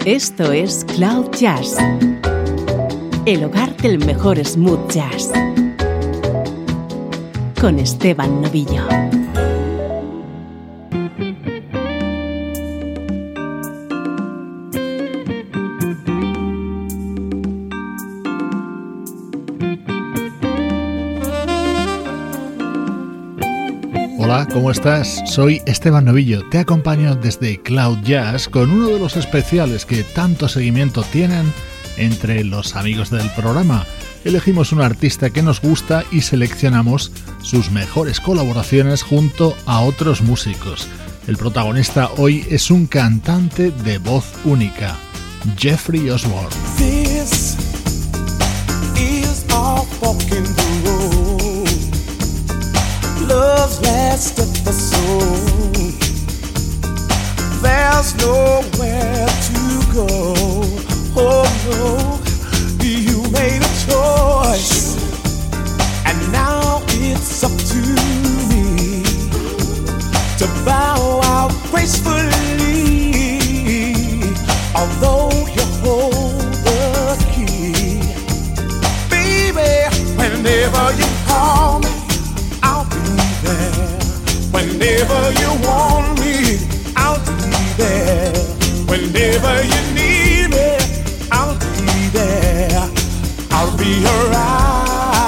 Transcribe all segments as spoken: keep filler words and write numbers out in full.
Esto es Cloud Jazz, el hogar del mejor smooth jazz, con Esteban Novillo. Hola, ¿cómo estás? Soy Esteban Novillo, te acompaño desde Cloud Jazz con uno de los especiales que tanto seguimiento tienen entre los amigos del programa. Elegimos un artista que nos gusta y seleccionamos sus mejores colaboraciones junto a otros músicos. El protagonista hoy es un cantante de voz única, Jeffrey Osborne. This is our fucking road. Love's last episode. There's nowhere to go. Oh no, you made a choice, and now it's up to me to bow out gracefully. Although you hold the key, baby, whenever you call me, I'll be there. Whenever you want me, I'll be there. Whenever you need me, I'll be there. I'll be around.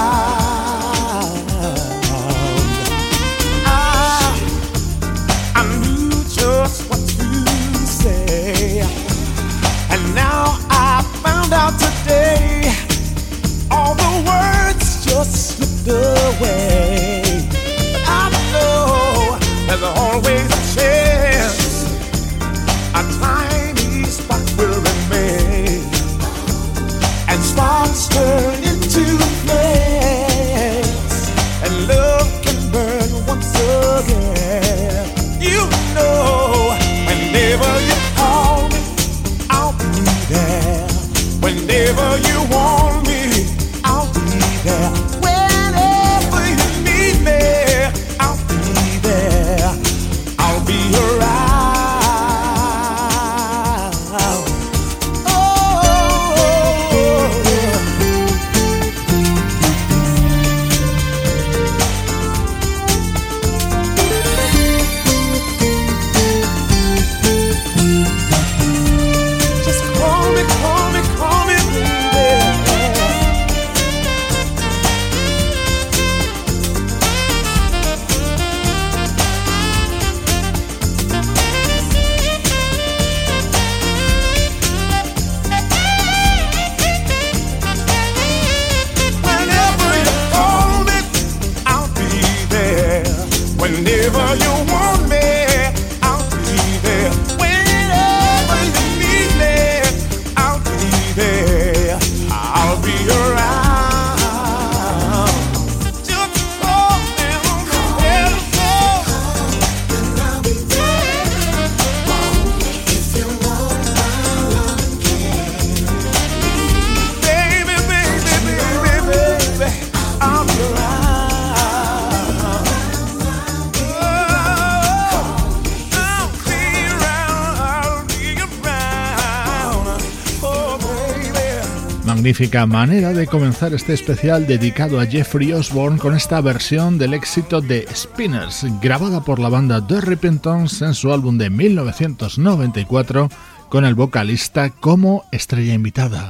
I, I knew just what to say, and now I found out today all the words just slipped away. There's always a chance, a tiny spark will remain, and sparks turn into flames, and love can burn once again. You know, whenever you call me, I'll be there. Whenever you want me, I'll be there. Whenever you need me, I'll be there. I'll be around. Just call me, call me, call me, baby. Whenever you call me, I'll be there. Whenever you want me, I'll be there. Whenever you need me, I'll be there. I'll be around. Just call me on the telephone, and I'll be there. If you want my love and care, baby, baby, baby, baby, I'll be around. Magnífica manera de comenzar este especial dedicado a Jeffrey Osborne con esta versión del éxito de Spinners, grabada por la banda The Repentance en su álbum de mil novecientos noventa y cuatro, con el vocalista como estrella invitada.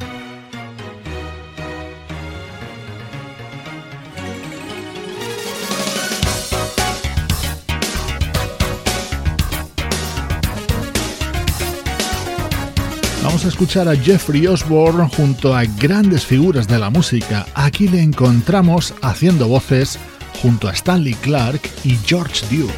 Vamos a escuchar a Jeffrey Osborne junto a grandes figuras de la música. Aquí le encontramos haciendo voces junto a Stanley Clarke y George Duke.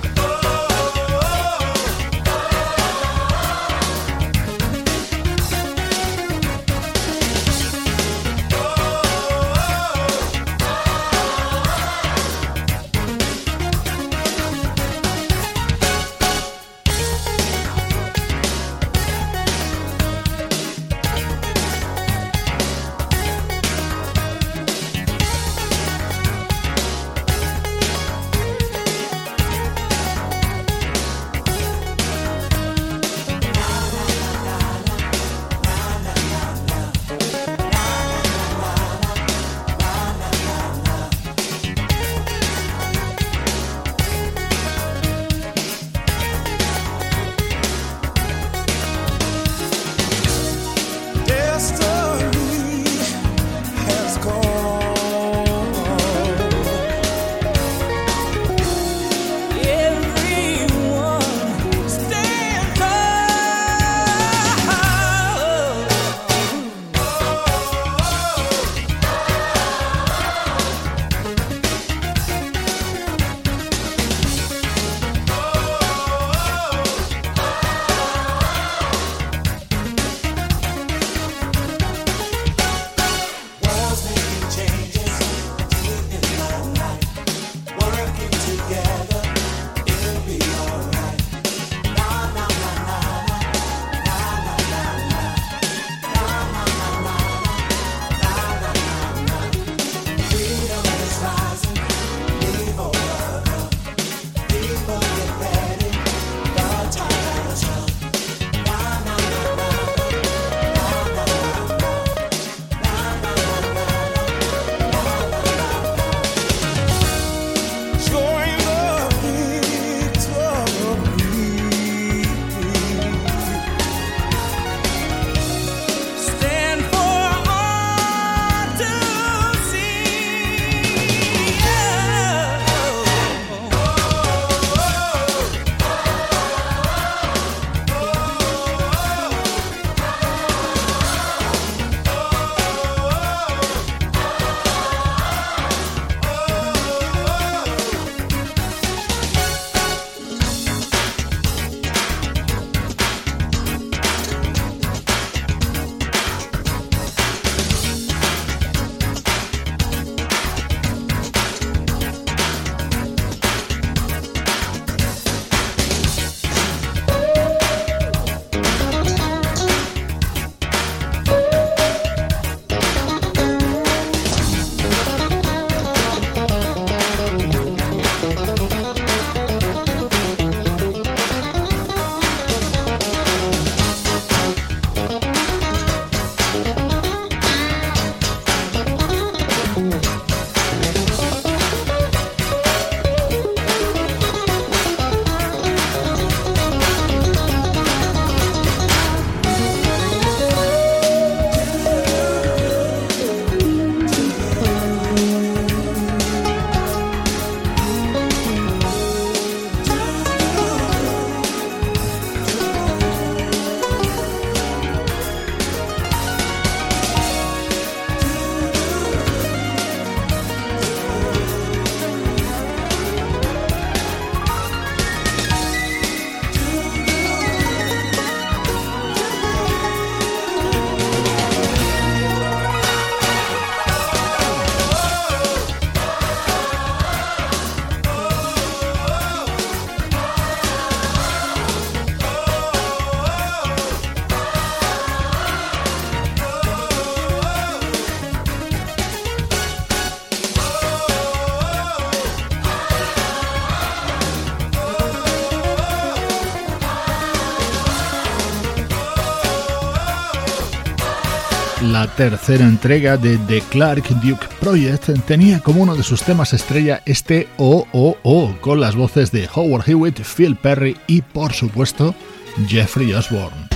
La tercera entrega de The Clark Duke Project tenía como uno de sus temas estrella este Oh Oh Oh, con las voces de Howard Hewitt, Phil Perry y, por supuesto, Jeffrey Osborne.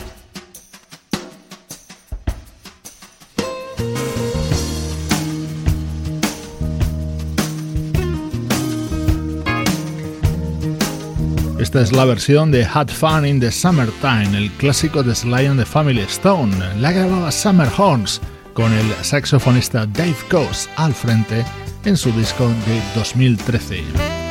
Esta es la versión de Had Fun in the Summertime, el clásico de Sly and the Family Stone. La grababa Summer Horns con el saxofonista Dave Coase al frente en su disco de dos mil trece.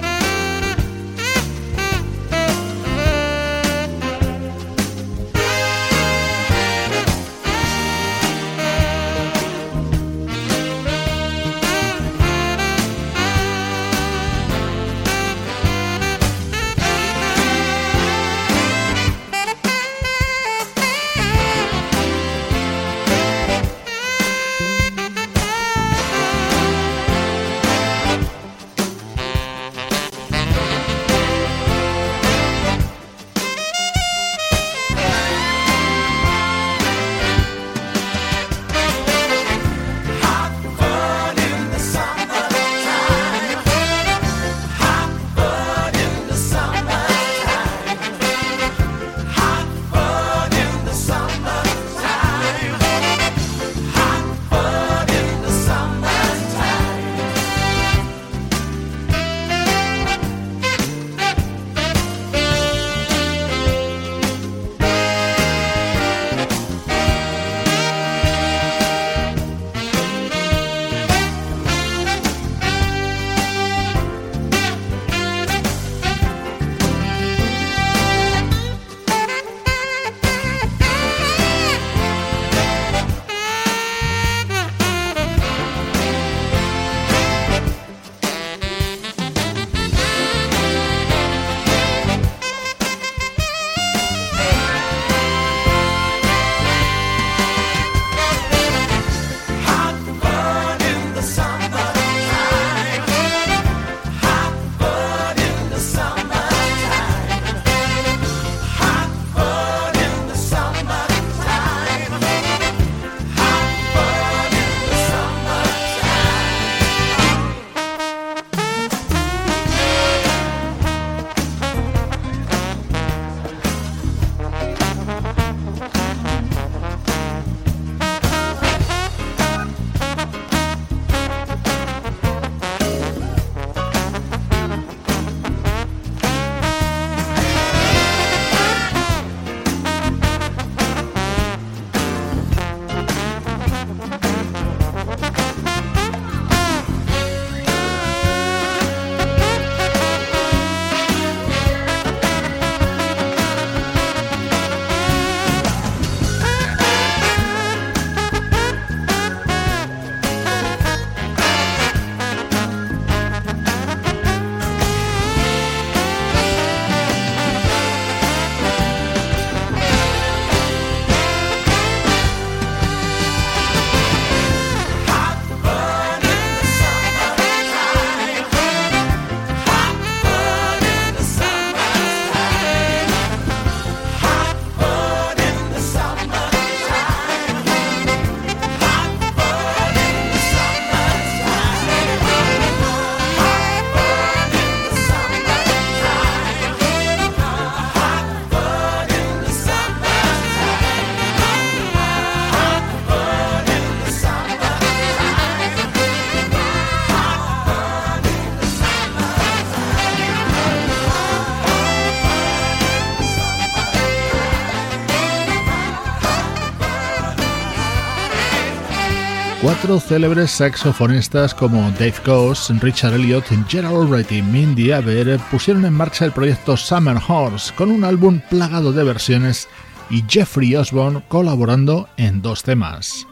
Cuatro célebres saxofonistas como Dave Coase, Richard Elliott, Gerald Albright y Mindy Aber pusieron en marcha el proyecto Summer Horns con un álbum plagado de versiones y Jeffrey Osborne colaborando en dos temas.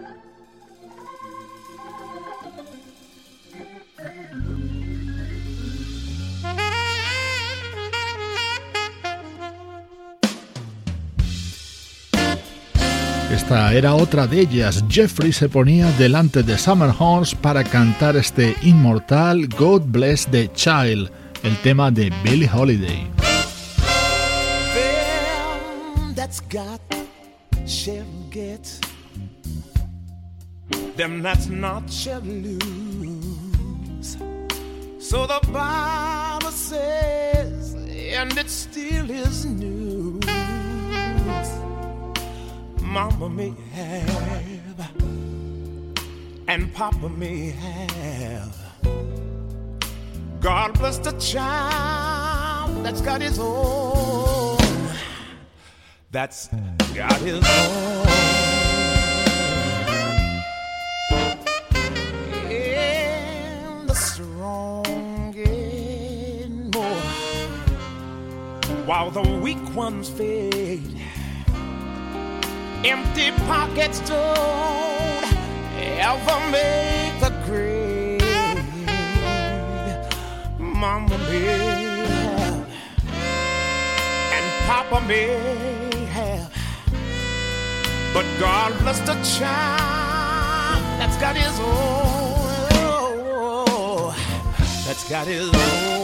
Esta era otra de ellas. Jeffrey se ponía delante de Summer Horns para cantar este inmortal God Bless the Child, el tema de Billie Holiday. Them that's got shall get, them that's not shall lose. So the Bible says, and it still is news. Mama may have, and Papa may have. God bless the child that's got his own, that's got his own. And the strong get more, while the weak ones fade. Empty pockets don't ever make the grade. Mama may have, and Papa may have, but God bless the child that's got his own, that's got his own.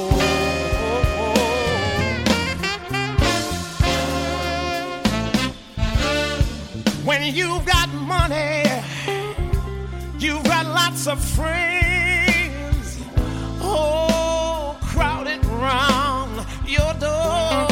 When you've got money, you've got lots of friends, oh, crowded round your door.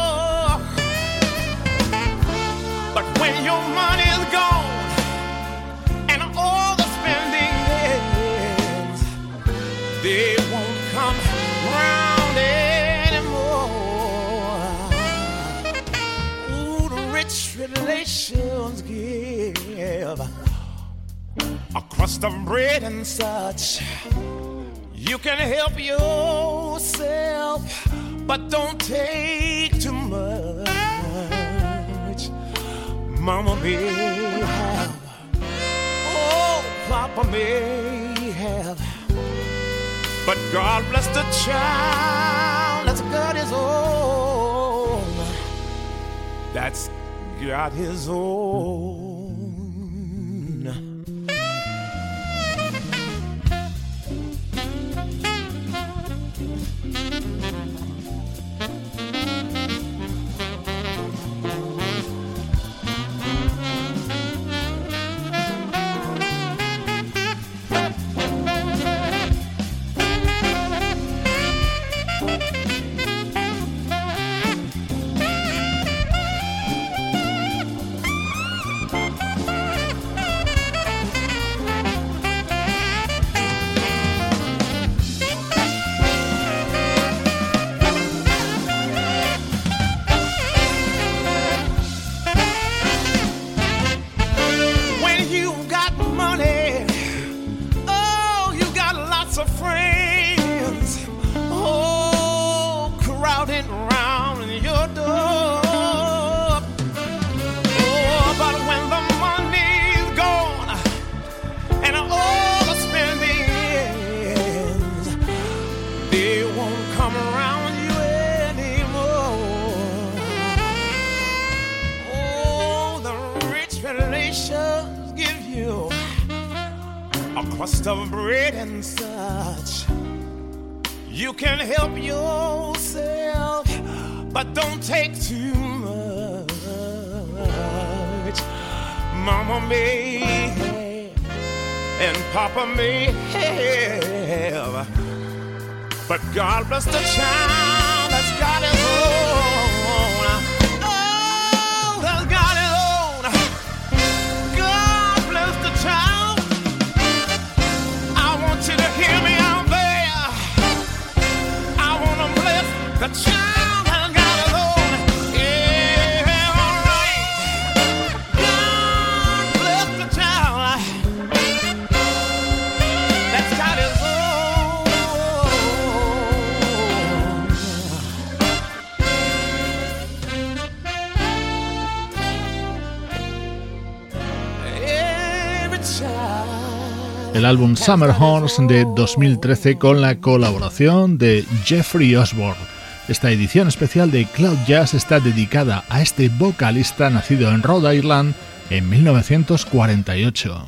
But when your money's gone and all the spending ends, they won't come round anymore. Ooh, the rich relations give across the bread and such. You can help yourself, but don't take too much. Mama may have, oh, Papa may have, but God bless the child that's got his own, that's got his own. Crust of bread and such. You can help yourself, but don't take too much. Mama may have, and Papa may have, but God bless the child that's got his own. Oh, that's got his own. God bless the child. You to hear me out there. I wanna bless the child that got his own. Yeah, all right. God bless the child that's got his own. Every child. El álbum Summer Horns de dos mil trece con la colaboración de Jeffrey Osborne. Esta edición especial de Cloud Jazz está dedicada a este vocalista nacido en Rhode Island en mil novecientos cuarenta y ocho.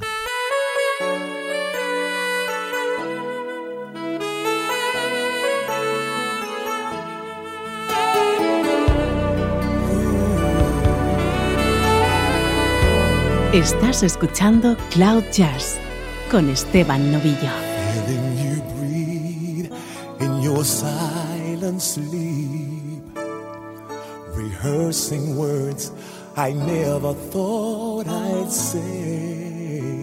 Estás escuchando Cloud Jazz con Esteban Novillo. Feeling you breathe in your silent sleep, rehearsing words I never thought I'd say.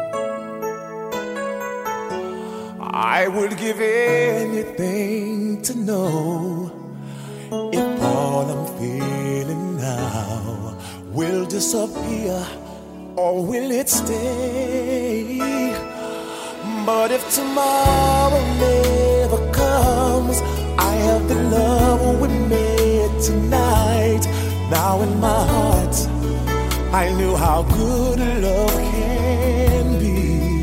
I would give anything to know if all I'm feeling now will disappear or will it stay? But if tomorrow never comes, I have the love we made tonight. Now in my heart, I knew how good love can be.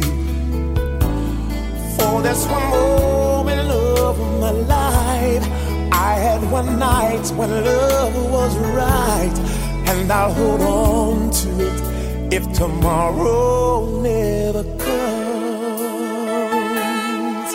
For this one moment of my life, I had one night when love was right, and I'll hold on to it if tomorrow never comes.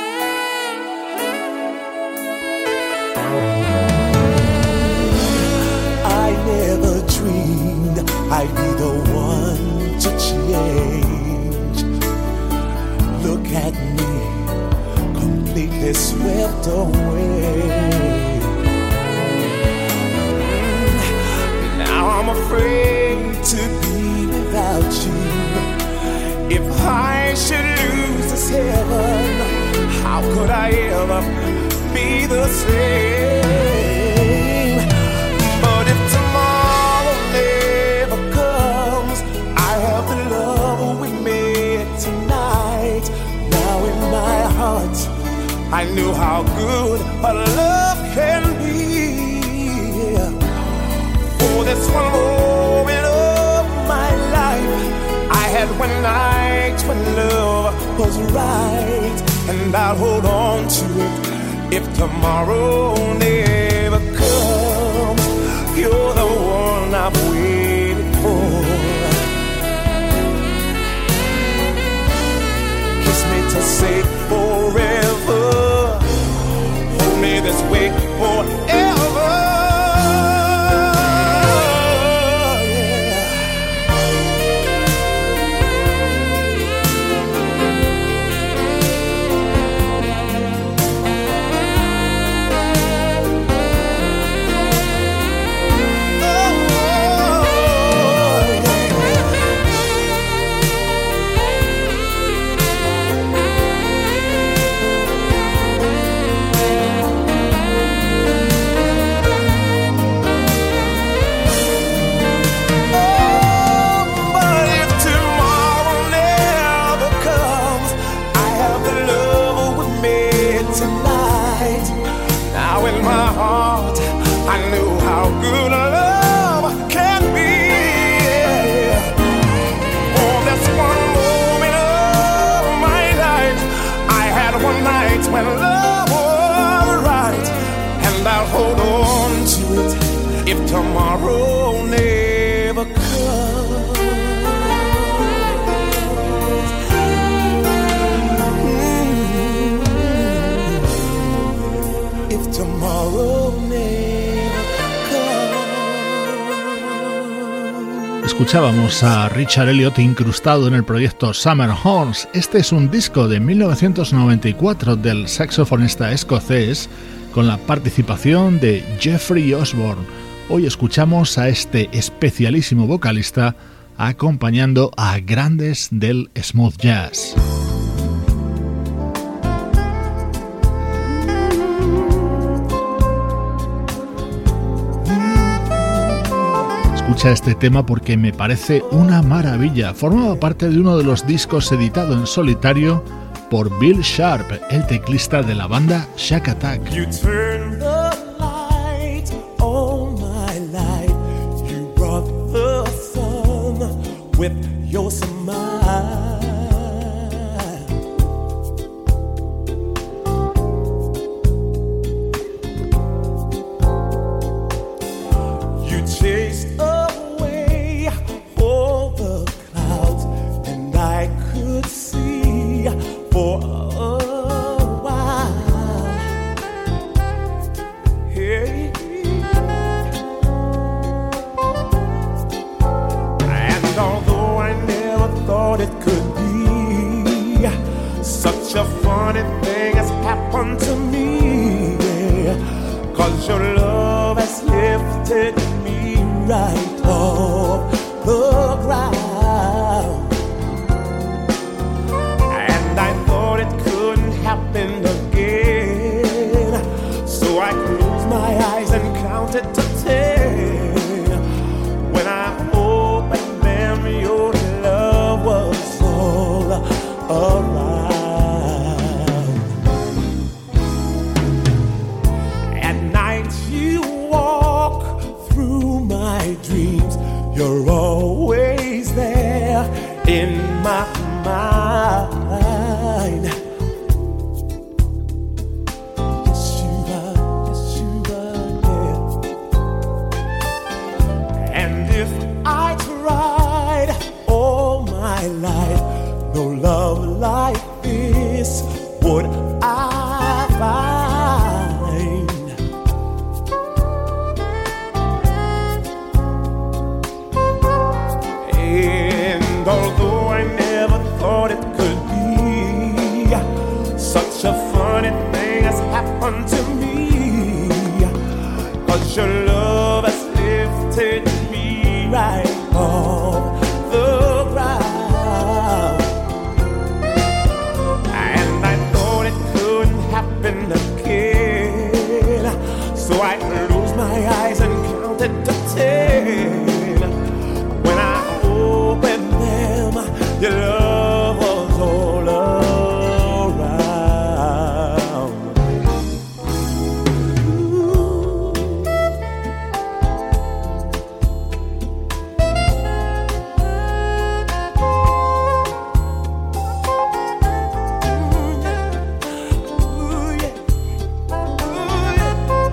I never dreamed I'd be the one to change. Look at me, completely swept away. Now I'm afraid to be without you. If I should lose this heaven, how could I ever be the same? But if tomorrow never comes, I have the love we made tonight. Now in my heart, I knew how good a love can be. For this one moment of my life, I had one night when love was right, and I'll hold on to it if tomorrow never comes. You're the one I've waited for. Kiss me to say forever. Hold me this way forever. When love was right, and I'll hold on to it if tomorrow never comes. Mm-hmm. If tomorrow never comes. Escuchábamos a Richard Elliott incrustado en el proyecto Summer Horns. Este es un disco de mil novecientos noventa y cuatro del saxofonista escocés con la participación de Jeffrey Osborne. Hoy escuchamos a este especialísimo vocalista acompañando a grandes del smooth jazz. Escucha este tema porque me parece una maravilla. Formaba parte de uno de los discos editado en solitario por Bill Sharp, el teclista de la banda Shack Attack. You turned the light on my life. You brought the sun with your smile. You chased away all the clouds, and I could see for a while. Hey. And although I never thought it could be, funny thing has happened to me, yeah. 'Cause your love has lifted me right off the ground. And I thought it couldn't happen again, so I closed my eyes and counted to ten. When I opened them, your love was all around. At night you walk through my dreams. You're always there in my mind. Yes you are, yes you are, yeah. And if I tried all my life, no love like this would I find. And although I never thought it could be, such a funny thing has happened to me. 'Cause your love has lifted me right off the ground. And I thought it couldn't happen again, so I closed my eyes and counted to ten. When I opened them, your love was all around. Ooh, yeah. Ooh, yeah.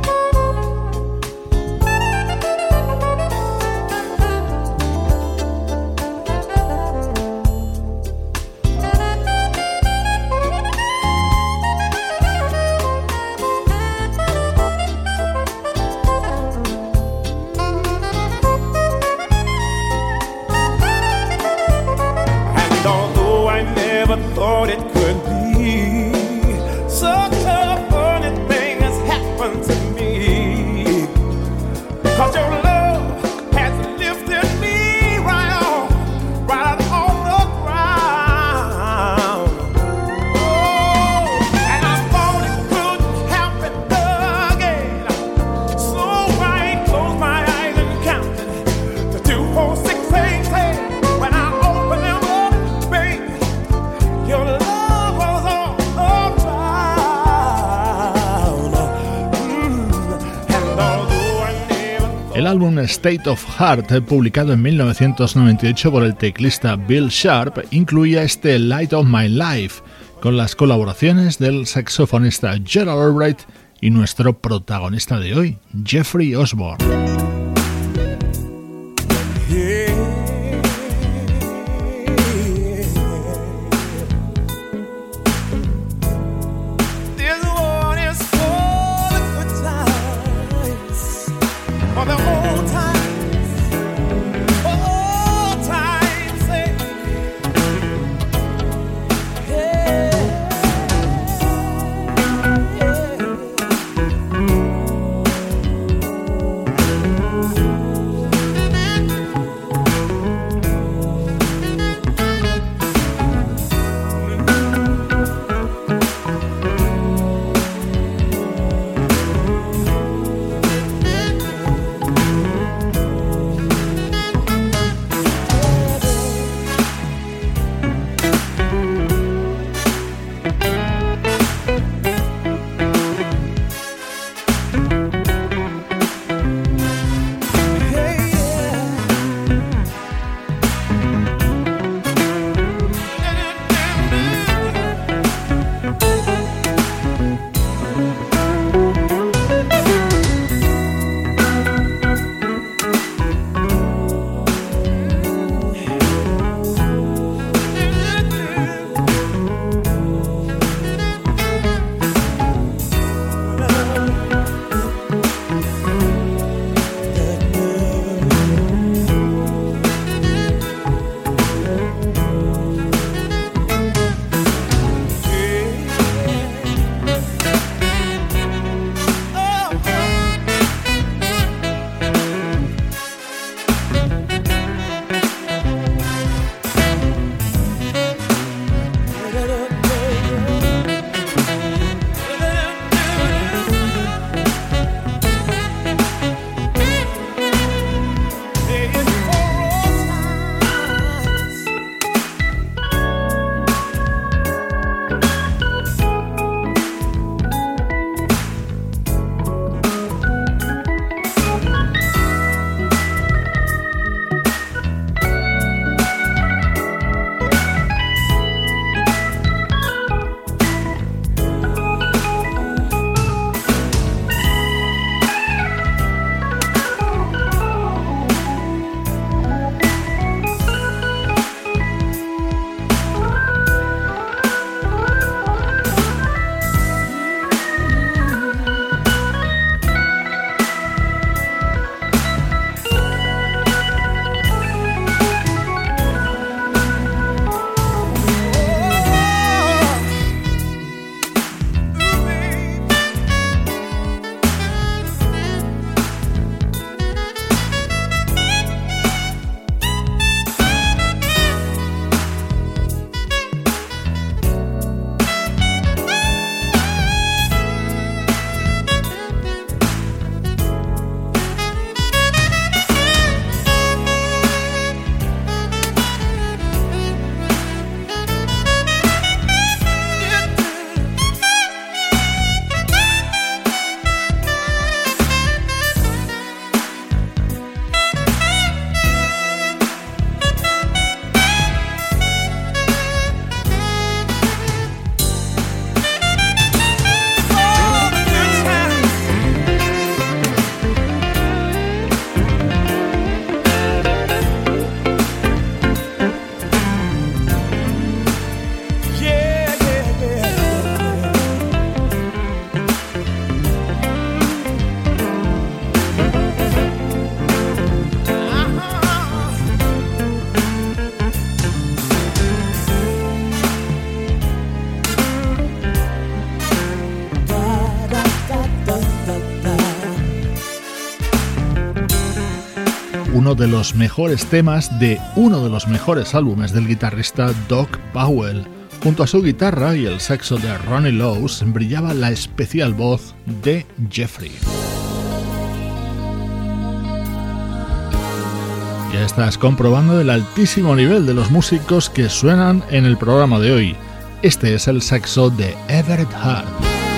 And although I never thought it could be, such a funny thing has happened to me. 'Cause your love has lifted me right off, right off the ground. Oh, and I thought it couldn't happen again, so I closed my eyes and counted to two, four, six, eight, ten. When I opened them up, baby, your love was all around. Mm. And although I never thought El álbum State of Heart, publicado en mil novecientos noventa y ocho por el teclista Bill Sharp, incluía este Light of My Life, con las colaboraciones del saxofonista Gerald Albright y nuestro protagonista de hoy, Jeffrey Osborne. Yeah. This one is for the good times, for the old times, old times. eh. Yeah. uno de los mejores temas de uno de los mejores álbumes del guitarrista Doc Powell. Junto a su guitarra y el saxo de Ronnie Lowes brillaba la especial voz de Jeffrey. Ya estás comprobando el altísimo nivel de los músicos que suenan en el programa de hoy. Este es el saxo de Everett Hart.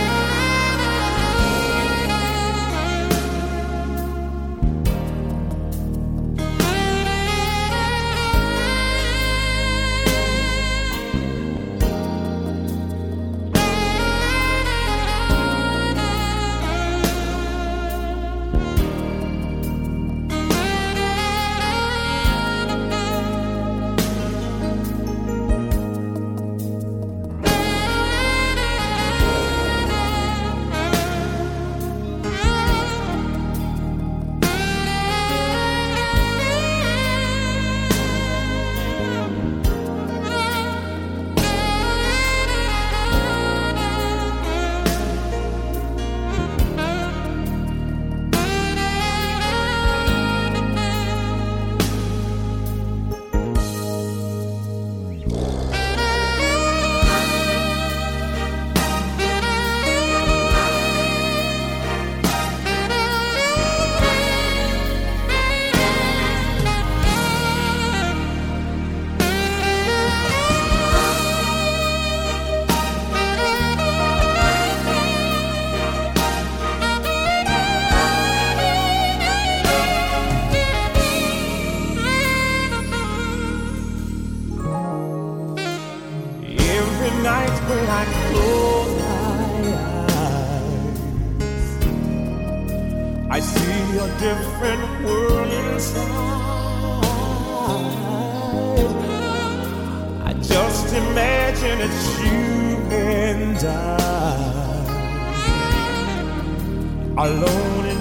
Alone in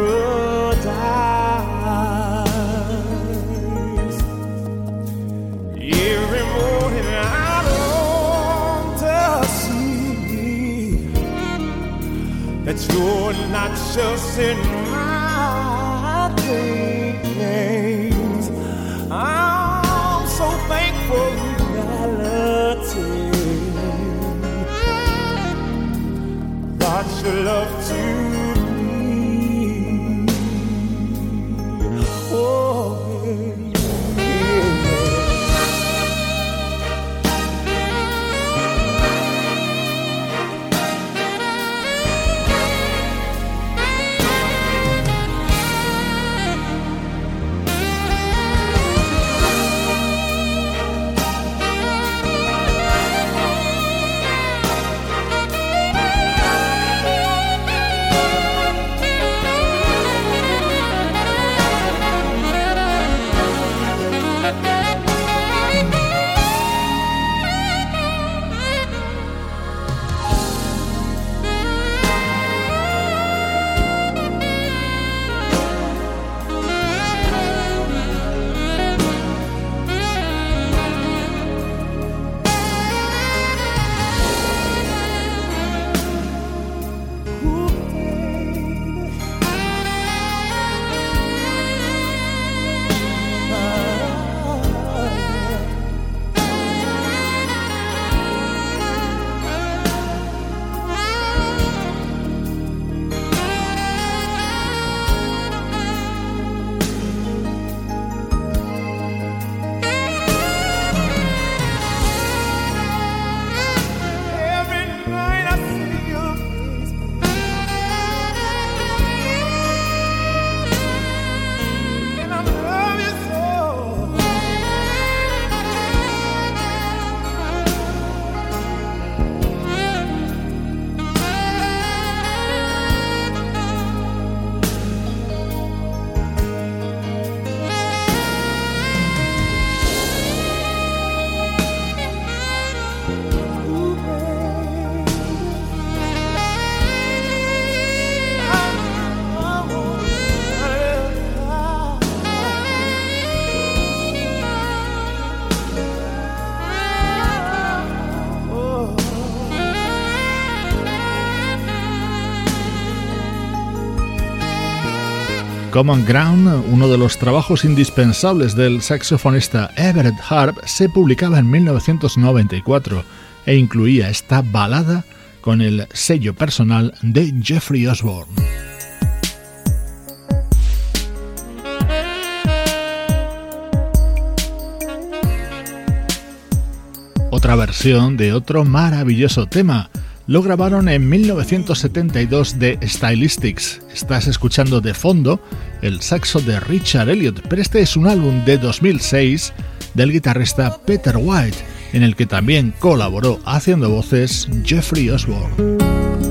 paradise. Every morning I long to see that you're not just in my dreams. I'm so thankful reality brought your love to Common Ground, uno de los trabajos indispensables del saxofonista Everett Harp, se publicaba en mil novecientos noventa y cuatro e incluía esta balada con el sello personal de Jeffrey Osborne. Otra versión de otro maravilloso tema. Lo grabaron en mil novecientos setenta y dos de Stylistics. Estás escuchando de fondo el saxo de Richard Elliott, pero este es un álbum de dos mil seis del guitarrista Peter White, en el que también colaboró haciendo voces Jeffrey Osborne.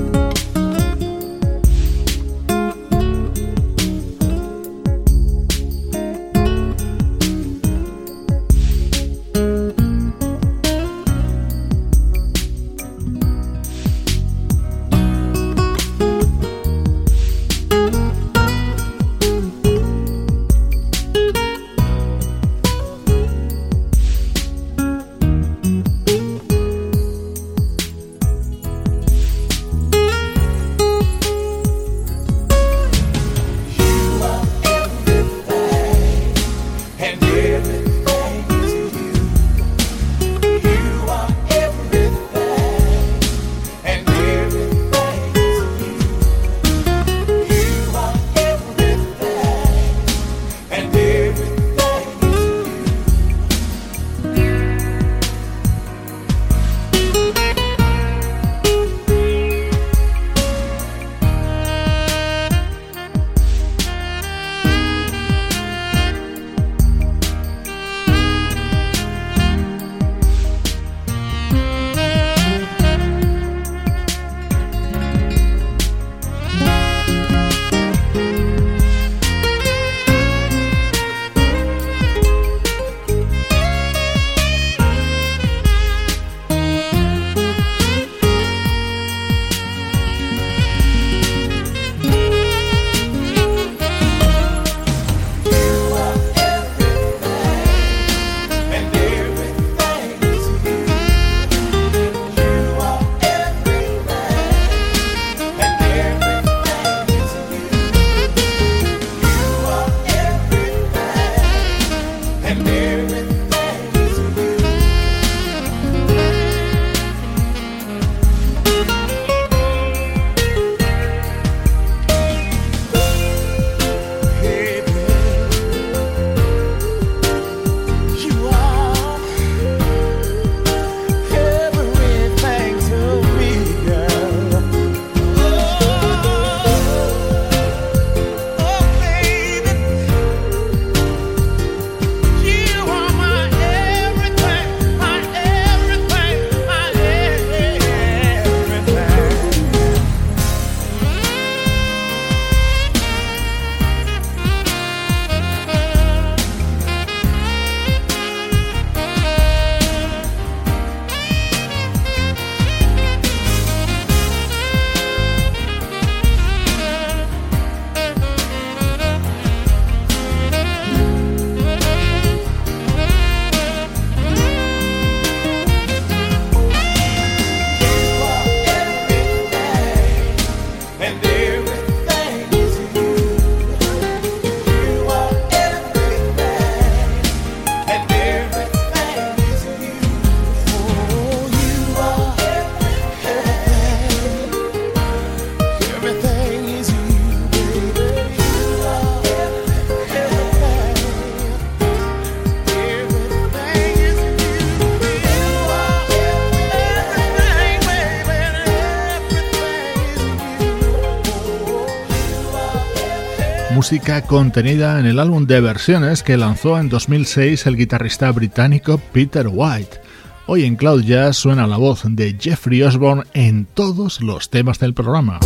Música contenida en el álbum de versiones que lanzó en dos mil seis el guitarrista británico Peter White. Hoy en Cloud Jazz suena la voz de Jeffrey Osborne en todos los temas del programa.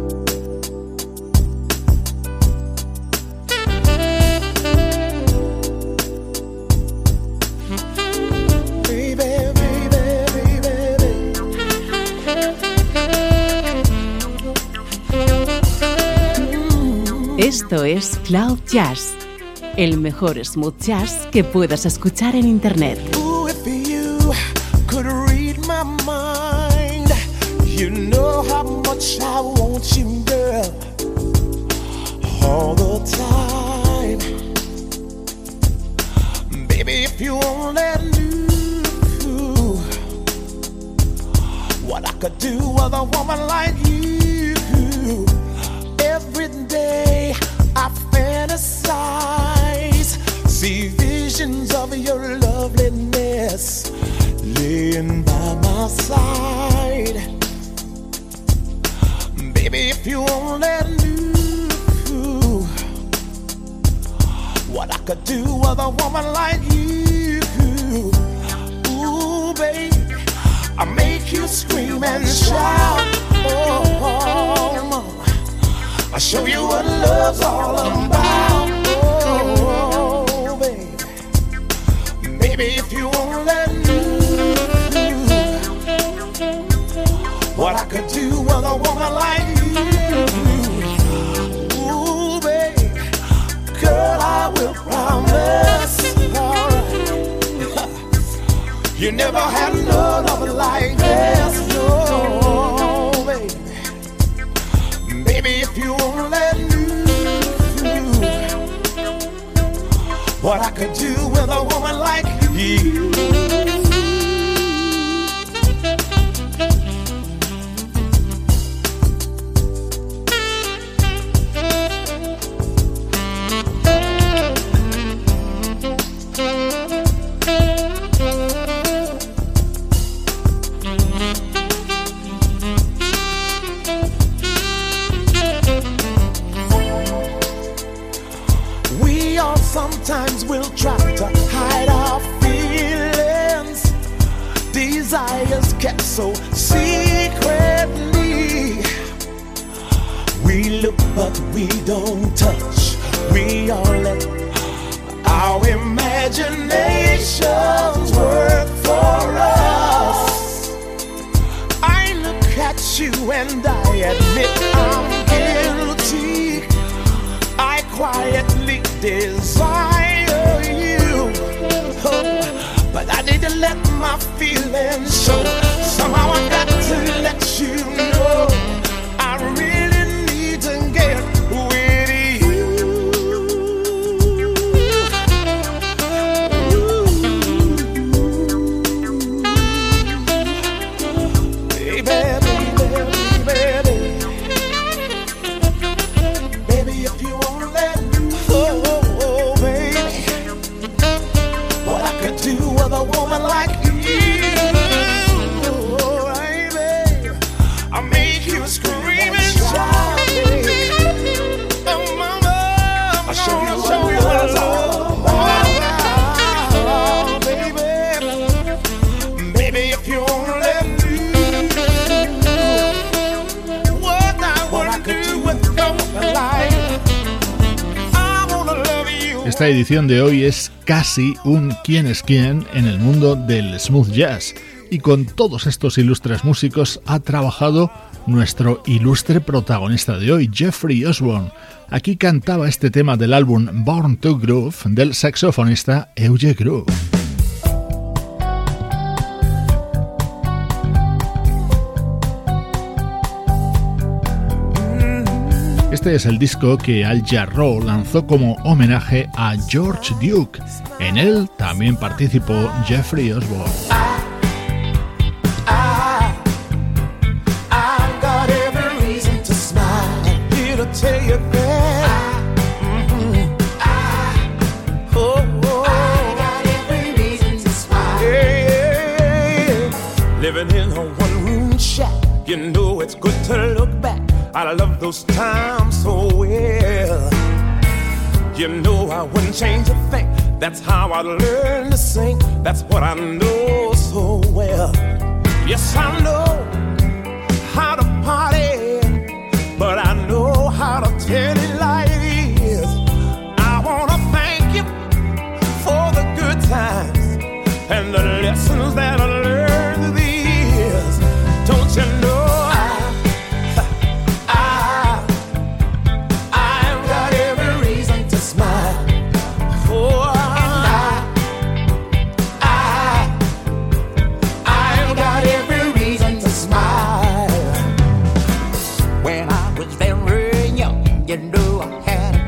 Esto es Cloud Jazz, el mejor smooth jazz que puedas escuchar en Internet. Ooh, if you could read my mind, you know how much I want you, girl. all the time. Baby, if you only knew what I could do with a woman like you. Every day I fantasize, see visions of your loveliness laying by my side. Baby, if you only knew what I could do with a woman like you. Ooh, baby, I make you scream and shout. Oh, I show you what love's all about. Oh, baby, baby, if you only knew what I could do with a woman like you. Ooh, baby, girl, I will promise. Alright, you never had no love like this. No, baby, baby, if you only knew what I could do with a woman like you. Sometimes we'll try to hide our feelings, desires kept so secretly. We look but we don't touch, we all let our imaginations work for us. I look at you and I admit I'm guilty. I quietly desire you, oh, but I need to let my feelings show. Somehow I got to let you know I really need to get with you. Baby, baby, baby, baby, if you wanna let me. Do with a woman like you, oh, baby, I make you scream and shout, baby. Oh, mama, I show you, show you what it's all about, baby. Baby, if you wanna let me, what I wanna do with a woman like you. Esta edición de hoy es casi un quién es quién en el mundo del smooth jazz, y con todos estos ilustres músicos ha trabajado nuestro ilustre protagonista de hoy, Jeffrey Osborne. Aquí cantaba este tema del álbum Born to Groove del saxofonista Eugene Groove. Este es el disco que Al Jarreau lanzó como homenaje a George Duke. En él también participó Jeffrey Osborne. Living in a one-room shack, you know it's good to look back. I love those times so well. You know I wouldn't change a thing. That's how I learned to sing. That's what I know so well. Yes, I know how to party, but I know how to tell it like it is. I wanna thank you for the good times and the lessons that I learned through the years. Don't you know? You know I had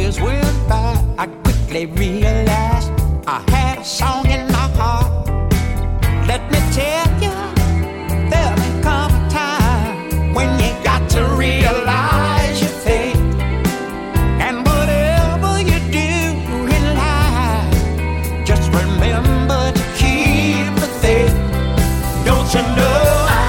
years went by, I quickly realized I had a song in my heart. Let me tell you, there'll come a time when you got to realize your fate. And whatever you do in life, just remember to keep the faith. Don't you know?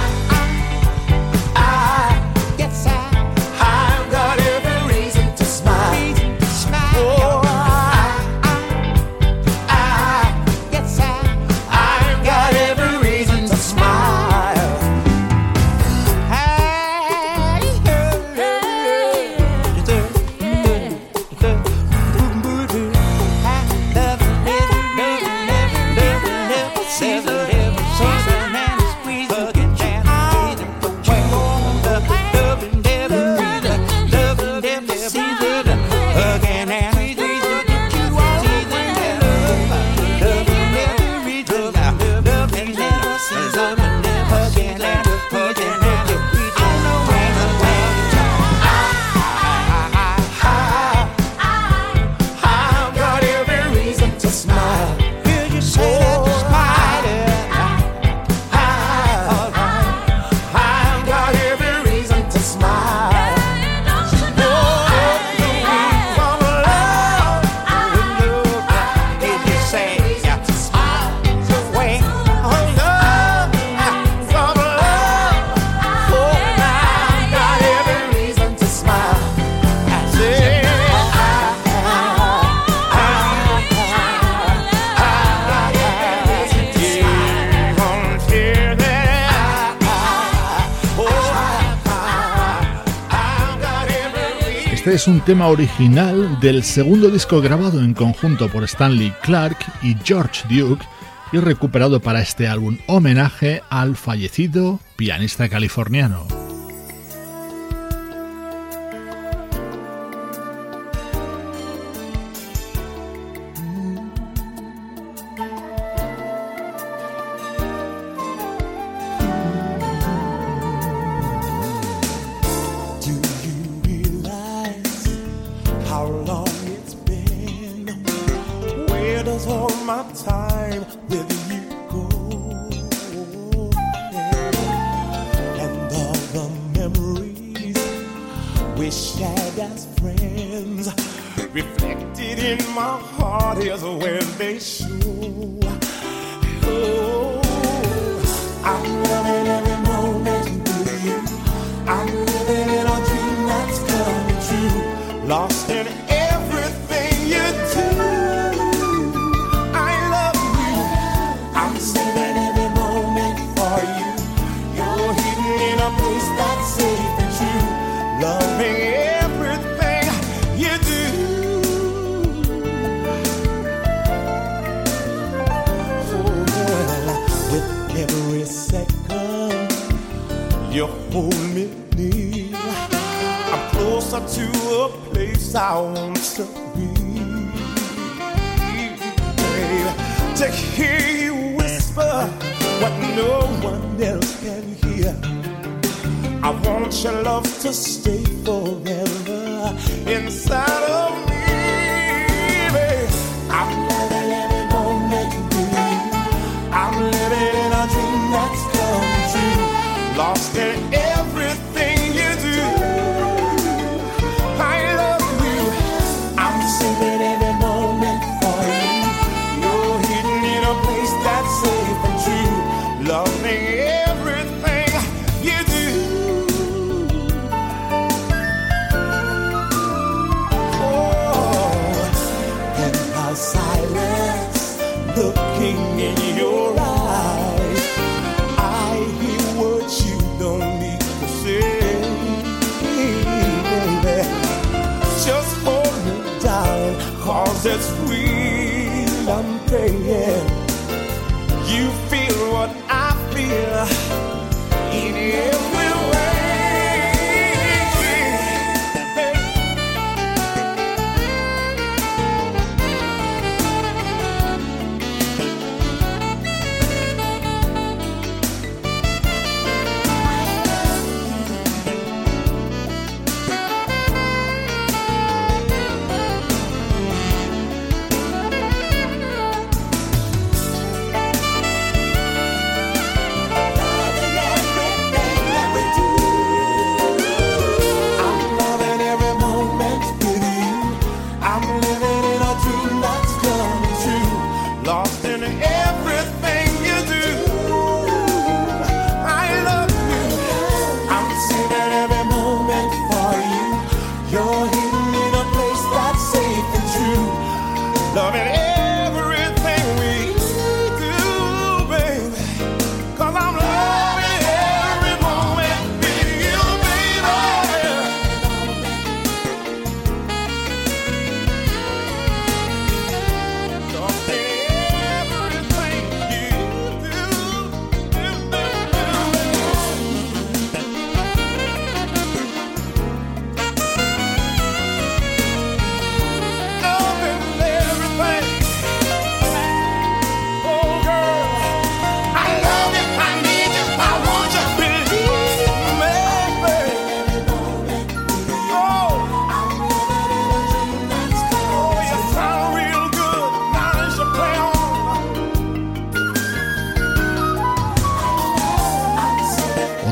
Es un tema original del segundo disco grabado en conjunto por Stanley Clarke y George Duke y recuperado para este álbum homenaje al fallecido pianista californiano.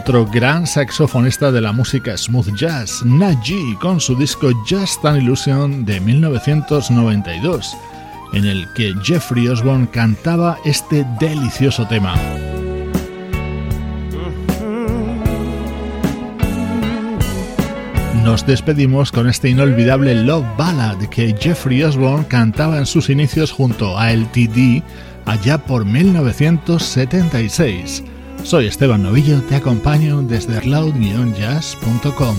otro gran saxofonista de la música smooth jazz, Naji, con su disco Just an Illusion de mil novecientos noventa y dos, en el que Jeffrey Osborne cantaba este delicioso tema. Nos despedimos con este inolvidable Love Ballad que Jeffrey Osborne cantaba en sus inicios junto a L T D allá por mil novecientos setenta y seis. Soy Esteban Novillo, te acompaño desde cloud jazz punto com.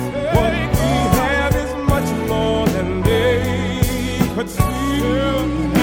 But still